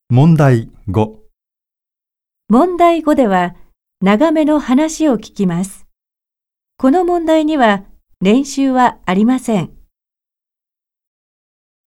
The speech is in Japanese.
問題5。 問題5では、長めの話を聞きます。この問題には練習はありません。